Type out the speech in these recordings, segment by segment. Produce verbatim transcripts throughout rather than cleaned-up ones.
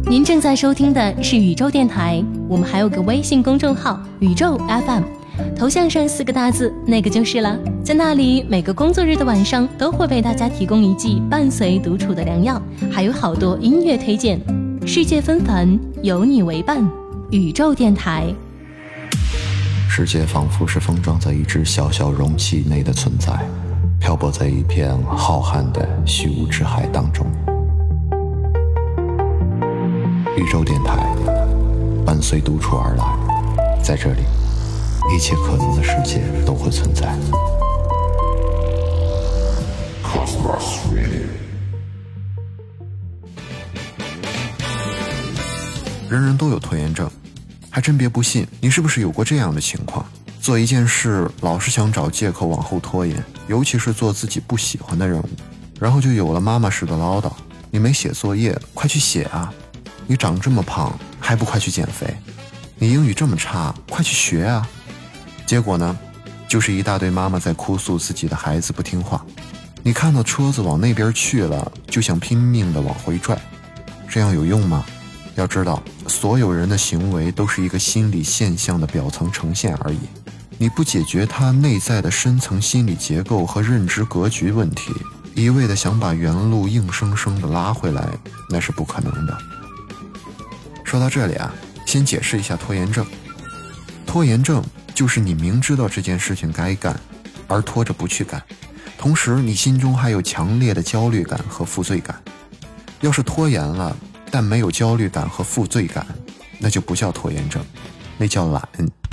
您正在收听的是宇宙电台，我们还有个微信公众号宇宙 F M， 头像上四个大字那个就是了。在那里每个工作日的晚上都会为大家提供一剂伴随独处的良药，还有好多音乐推荐。世界纷繁，有你为伴，宇宙电台。 世界仿佛是封装在一只小小容器内的存在，漂泊在一片浩瀚的虚无之海当中。宇宙电台伴随独处而来，在这里一切可能的世界都会存在。人人都有拖延症，还真别不信，你是不是有过这样的情况？做一件事老是想找借口往后拖延，尤其是做自己不喜欢的任务，然后就有了妈妈式的唠叨：你没写作业，快去写啊！你长这么胖，还不快去减肥？你英语这么差，快去学啊！结果呢，就是一大堆妈妈在哭诉自己的孩子不听话。你看到车子往那边去了，就想拼命地往回拽，这样有用吗？要知道，所有人的行为都是一个心理现象的表层呈现而已。你不解决它内在的深层心理结构和认知格局问题，一味地想把原路硬生生地拉回来，那是不可能的。说到这里啊，先解释一下拖延症。拖延症就是你明知道这件事情该干，而拖着不去干，同时你心中还有强烈的焦虑感和负罪感。要是拖延了，但没有焦虑感和负罪感，那就不叫拖延症，那叫懒。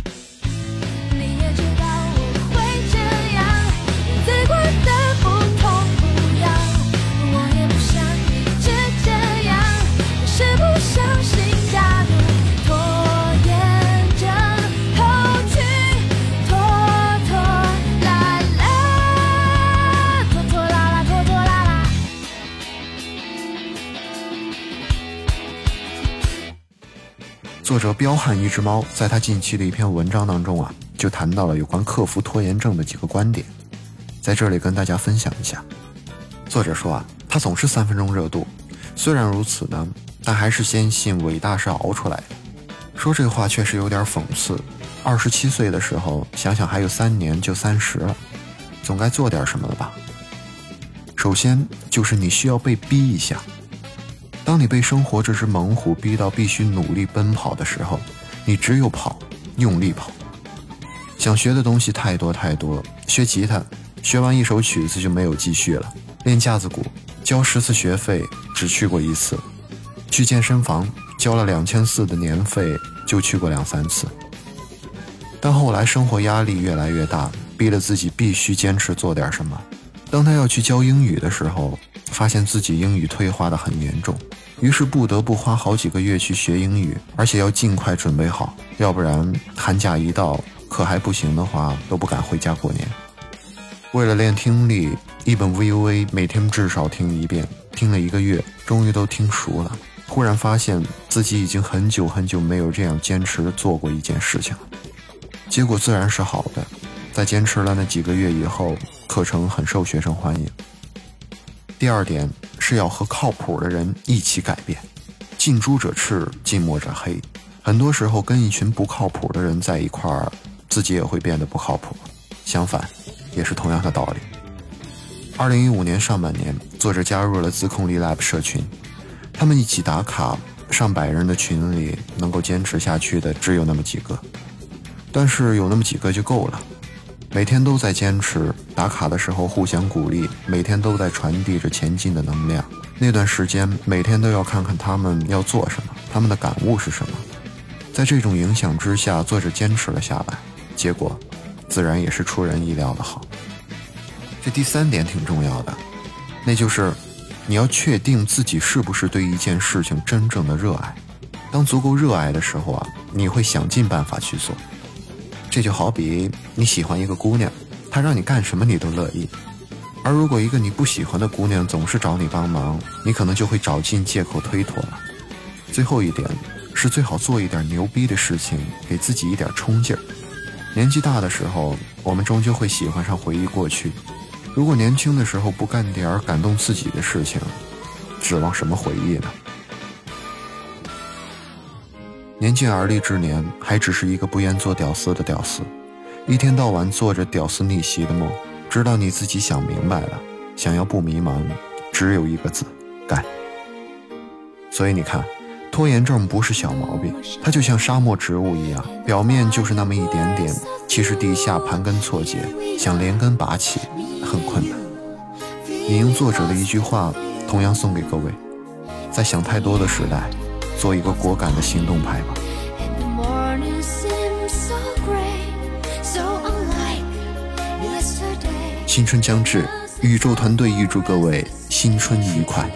作者彪悍一只猫在他近期的一篇文章当中啊，就谈到了有关克服拖延症的几个观点，在这里跟大家分享一下。作者说啊，他总是三分钟热度，虽然如此呢，但还是坚信伟大是熬出来的。说这话确实有点讽刺，二十七岁的时候，想想还有三年就三十了，总该做点什么了吧？首先就是你需要被逼一下。当你被生活这只猛虎逼到必须努力奔跑的时候，你只有跑，用力跑。想学的东西太多太多，学吉他，学完一首曲子就没有继续了；练架子鼓，交十次学费，只去过一次；去健身房，交了两千四的年费，就去过两三次。但后来生活压力越来越大，逼了自己必须坚持做点什么。当他要去教英语的时候，发现自己英语退化得很严重，于是不得不花好几个月去学英语，而且要尽快准备好，要不然寒假一到，课还不行的话，都不敢回家过年。为了练听力，一本 V U A 每天至少听一遍，听了一个月，终于都听熟了。忽然发现自己已经很久很久没有这样坚持地做过一件事情，结果自然是好的。在坚持了那几个月以后，课程很受学生欢迎。第二点是要和靠谱的人一起改变，近朱者赤，近墨者黑。很多时候跟一群不靠谱的人在一块儿，自己也会变得不靠谱。相反，也是同样的道理。二零一五年上半年，作者加入了自控力 Lab 社群，他们一起打卡，上百人的群里能够坚持下去的只有那么几个，但是有那么几个就够了。每天都在坚持，打卡的时候互相鼓励，每天都在传递着前进的能量。那段时间每天都要看看他们要做什么，他们的感悟是什么。在这种影响之下，作者坚持了下来，结果自然也是出人意料的好。这第三点挺重要的，那就是你要确定自己是不是对一件事情真正的热爱。当足够热爱的时候啊，你会想尽办法去做。这就好比你喜欢一个姑娘，她让你干什么你都乐意，而如果一个你不喜欢的姑娘总是找你帮忙，你可能就会找尽借口推脱了。最后一点是最好做一点牛逼的事情，给自己一点冲劲儿。年纪大的时候，我们终究会喜欢上回忆过去，如果年轻的时候不干点感动自己的事情，指望什么回忆呢？ 年近而立之年，还只是一个不愿做屌丝的屌丝，一天到晚做着屌丝逆袭的梦，直到你自己想明白了，想要不迷茫，只有一个字：干。所以你看，拖延症不是小毛病，它就像沙漠植物一样，表面就是那么一点点，其实底下盘根错节，想连根拔起很困难。引用作者的一句话，同样送给各位：在想太多的时代，做一个果敢的行动派吧。新春将至，宇宙团队预祝各位新春愉快。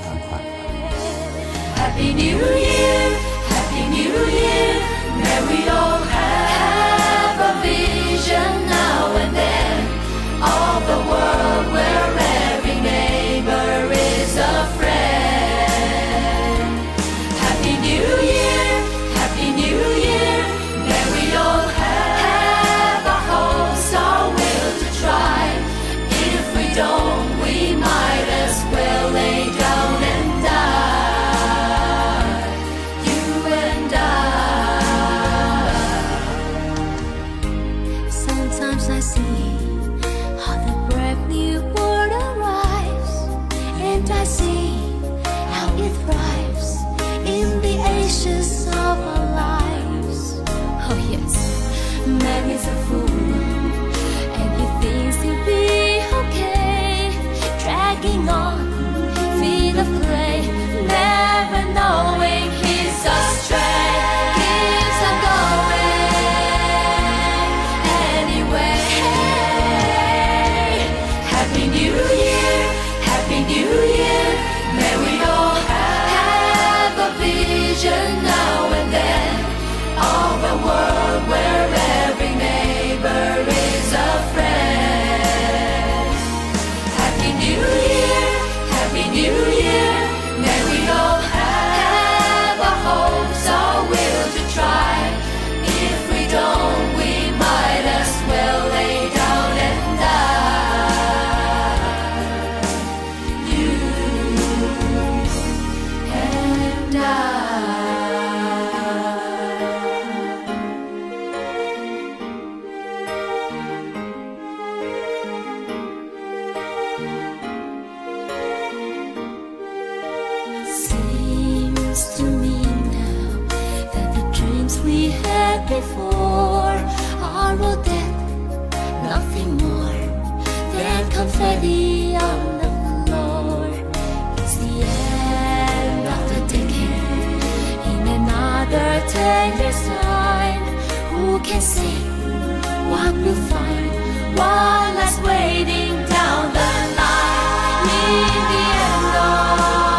Happy New Year, Happy New Year. May we all have a vision now and then of the world where every neighbor is a friend. Happy New Year, Happy New Year. May we all have our hopes, our will to try. If we don't, we might as well lay down and die. You and I. Sometimes I see how the brave new world arrives, and I see how it thrives in the ashes of our lives. Oh yes, man is a fool, and he thinks he'll be okay, dragging on feet of clay, never knowing he's astray. Keeps on going anyway. Happy New Year, Happy New Year. May we all have a vision now and then of a world where every neighbor is a friend. Happy New Year, Happy New Year. May we all have our hopes, our will to try. If we don't, we might as well lay down and die. You and I. Seems to me now that the dreams we had before are all dead, nothing more than confetti on the floor. It's the end of the decade. In another ten years' time, who can say what we'll find? One last waiting down the line. In the end of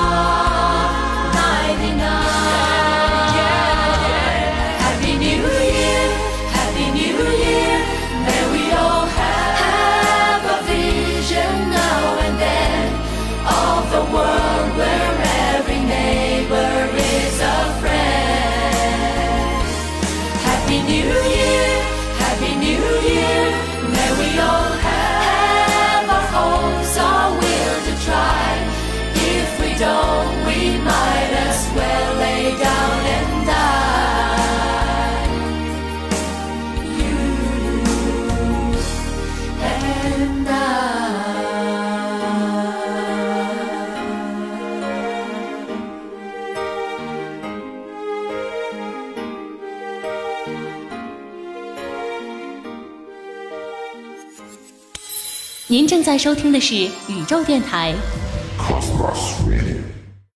Happy New Year, Happy New Year. May we all have a vision now and then of the world where every neighbor is a friend. Happy New Year, Happy New Year. May we all have our hopes, our will to try. If we don't, we might as well lay down and die. You and I. 您正在收听的是宇宙电台。 Cosmos Radio。